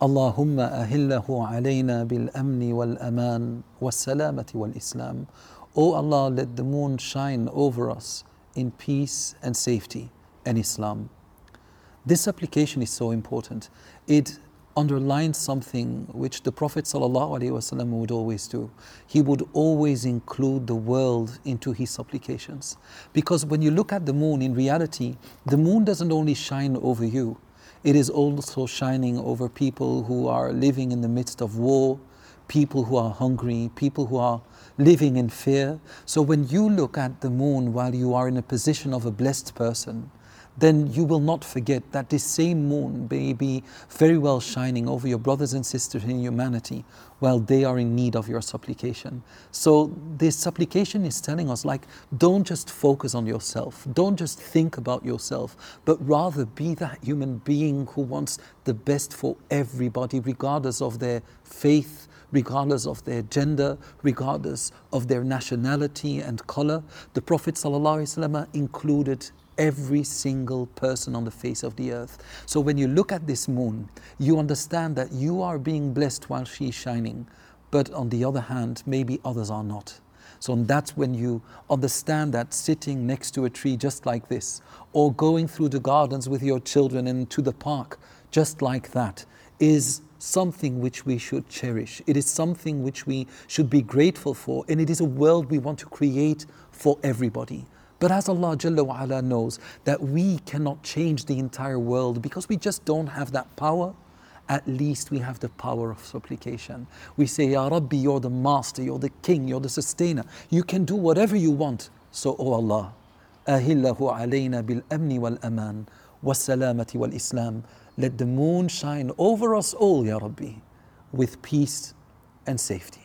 اللهم أهله علينا بالأمن والأمان والسلامة والإسلام. O Allah, let the moon shine over us in peace and safety and Islam. This supplication is so important. It underlines something which the Prophet ﷺ would always do. He would always include the world into his supplications. Because when you look at the moon, in reality, the moon doesn't only shine over you, it is also shining over people who are living in the midst of war, people who are hungry, people who are living in fear. So when you look at the moon while you are in a position of a blessed person, then you will not forget that this same moon may be very well shining over your brothers and sisters in humanity while they are in need of your supplication. So this supplication is telling us, like, don't just focus on yourself, don't just think about yourself, but rather be that human being who wants the best for everybody, regardless of their faith, regardless of their gender, regardless of their nationality and color. The Prophet ﷺ included every single person on the face of the earth. So when you look at this moon, you understand that you are being blessed while she is shining, but on the other hand, maybe others are not. So that's when you understand that sitting next to a tree just like this, or going through the gardens with your children and to the park just like that, is something which we should cherish. It is something which we should be grateful for, and it is a world we want to create for everybody. But as Allah Jalla wa Ala knows that we cannot change the entire world because we just don't have that power, at least we have the power of supplication. We say, Ya Rabbi, you're the master, you're the king, you're the sustainer. You can do whatever you want. So, O Allah, أهله علينا بالأمن والأمان والسلامة والإسلام. Let the moon shine over us all, Ya Rabbi, with peace and safety.